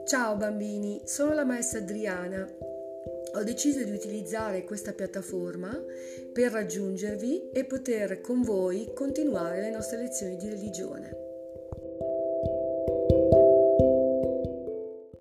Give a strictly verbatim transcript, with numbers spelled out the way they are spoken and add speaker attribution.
Speaker 1: Ciao bambini, sono la maestra Adriana. Ho deciso di utilizzare questa piattaforma per raggiungervi e poter con voi continuare le nostre lezioni di religione.